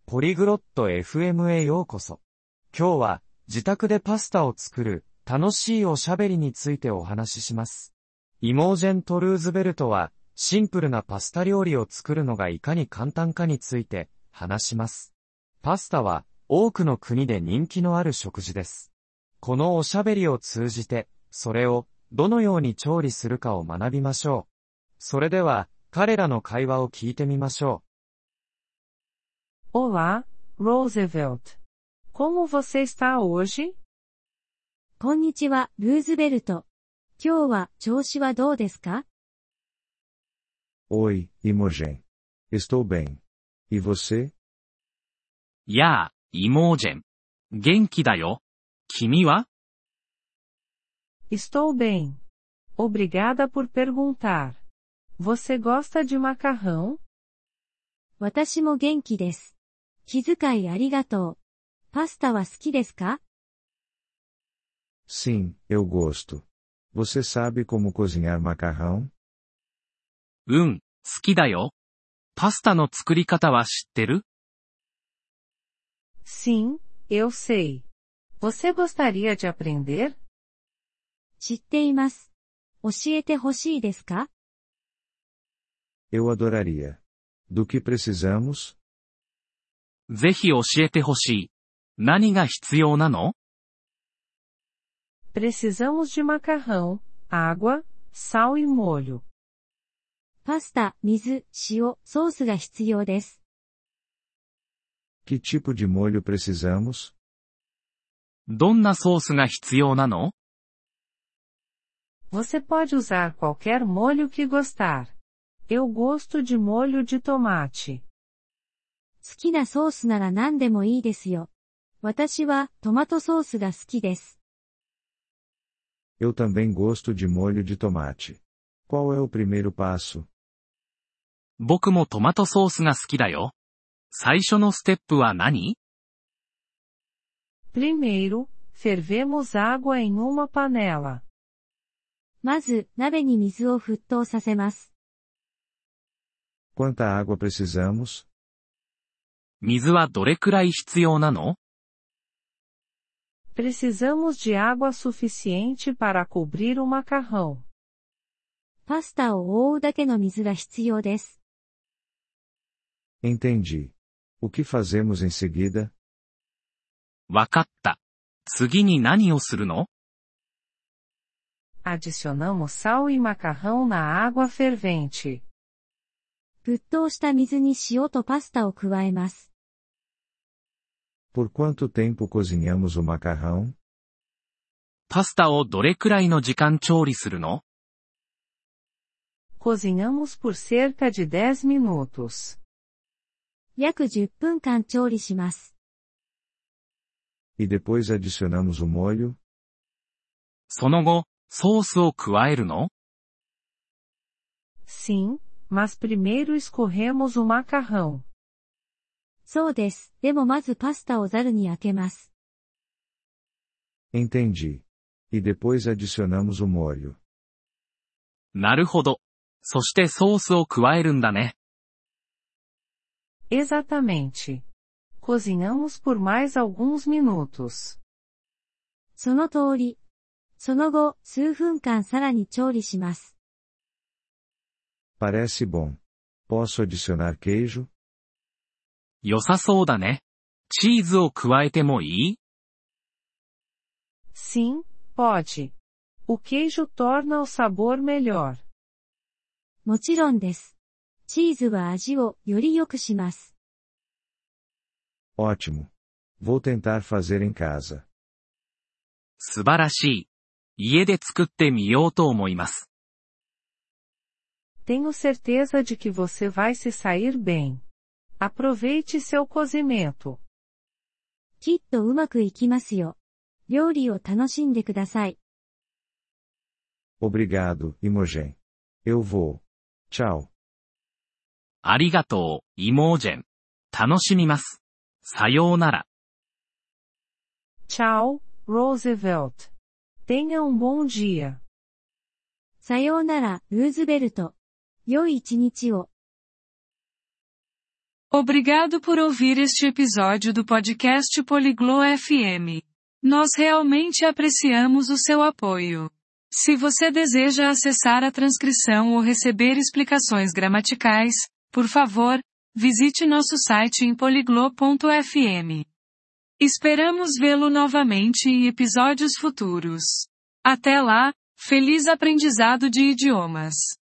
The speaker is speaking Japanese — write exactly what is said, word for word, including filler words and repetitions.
ポリグロット エフエム へようこそ。今日は自宅でパスタを作る楽しいおしゃべりについてお話しします。イモージェント・ルーズベルトはシンプルなパスタ料理を作るのがいかに簡単かについて話します。パスタは多くの国で人気のある食事です。このおしゃべりを通じてそれをどのように調理するかを学びましょう。それでは彼らの会話を聞いてみましょう。 Olá, Roosevelt. Como você está hoje? こんにちは、ルーズベルト。今日は調子はどうですか？ Oi, Imogen. Estou bem. E você? やあ、イモージェン。元気だよ。君は？ Estou bem. Obrigada por perguntar. Você gosta de macarrão? 私も元気です。気遣いありがとう。パスタは好きですか？ Sim, eu gosto. Você sabe como cozinhar macarrão? うん、好きだよ。パスタの作り方は知ってる？ Sim, eu sei. Você gostaria de aprender? 知っています。教えてほしいですか？ Eu adoraria. Do que precisamos? ぜひ教えてほしい。何が必要なの？ Precisamos de macarrão, água, sal e molho. パスタ、水、塩、ソースが必要です。 Que tipo de molho precisamos? どんなソースが必要なの？ Você pode usar qualquer molho que gostar. Eu gosto de molho de tomate. 好きなソースなら何でもいいですよ。私はトマトソースが好きです。 Eu também gosto de molho de tomate. Qual é o primeiro passo? 僕もトマトソースが好きだよ。最初のステップは何？ Primeiro, fervemos água em uma panela. まず、鍋に水を沸騰させます。 Quanta água precisamos? 水はどれくらい必要なの？ Precisamos de água suficiente para cobrir o macarrão. パスタを覆うだけの水が必要です。 Entendi. O que fazemos em seguida? わかった。次に何をするの？ Adicionamos sal e macarrão na água fervente. 沸騰した水に塩とパスタを加えます。 Por quanto tempo cozinhamos o macarrão? パスタをどれくらいの時間調理するの？ Cozinhamos por cerca de dez minutos. 約じゅっぷんかん調理します。 E depois adicionamos o molho? その後、ソースを加えるの？ Sim, mas primeiro escorremos o macarrão. そうです。でもまずパスタをザルにあけます。 Entendi. E depois adicionamos o molho. なるほど。そしてソースを加えるんだね。 Exatamente. Cozinhamos por mais alguns minutos. その通り。その後、数分間さらに調理します。 Parece bom. Posso adicionar queijo? 良さそうだね。チーズを加えてもいい？ Sim, pode. O queijo torna o sabor melhor. もちろんです。チーズは味をより良くします。 Ótimo. Vou tentar fazer em casa. 素晴らしい。家で作ってみようと思います。 Tenho certeza de que você vai se sair bem. Aproveite seu cozimento. きっとうまくいきますよ。料理を楽しんでください。 Obrigado, Imogen. Eu vou. Tchau. ありがとう、イモージェン。楽しみます。さようなら。 Tchau, Roosevelt. Tenha um bom dia. さようなら、ルーズベルト。良い一日を。 Obrigado por ouvir este episódio do podcast Poliglo F M. Nós realmente apreciamos o seu apoio. Se você deseja acessar a transcrição ou receber explicações gramaticais, por favor, visite nosso site em poliglo ponto f m. Esperamos vê-lo novamente em episódios futuros. Até lá, feliz aprendizado de idiomas!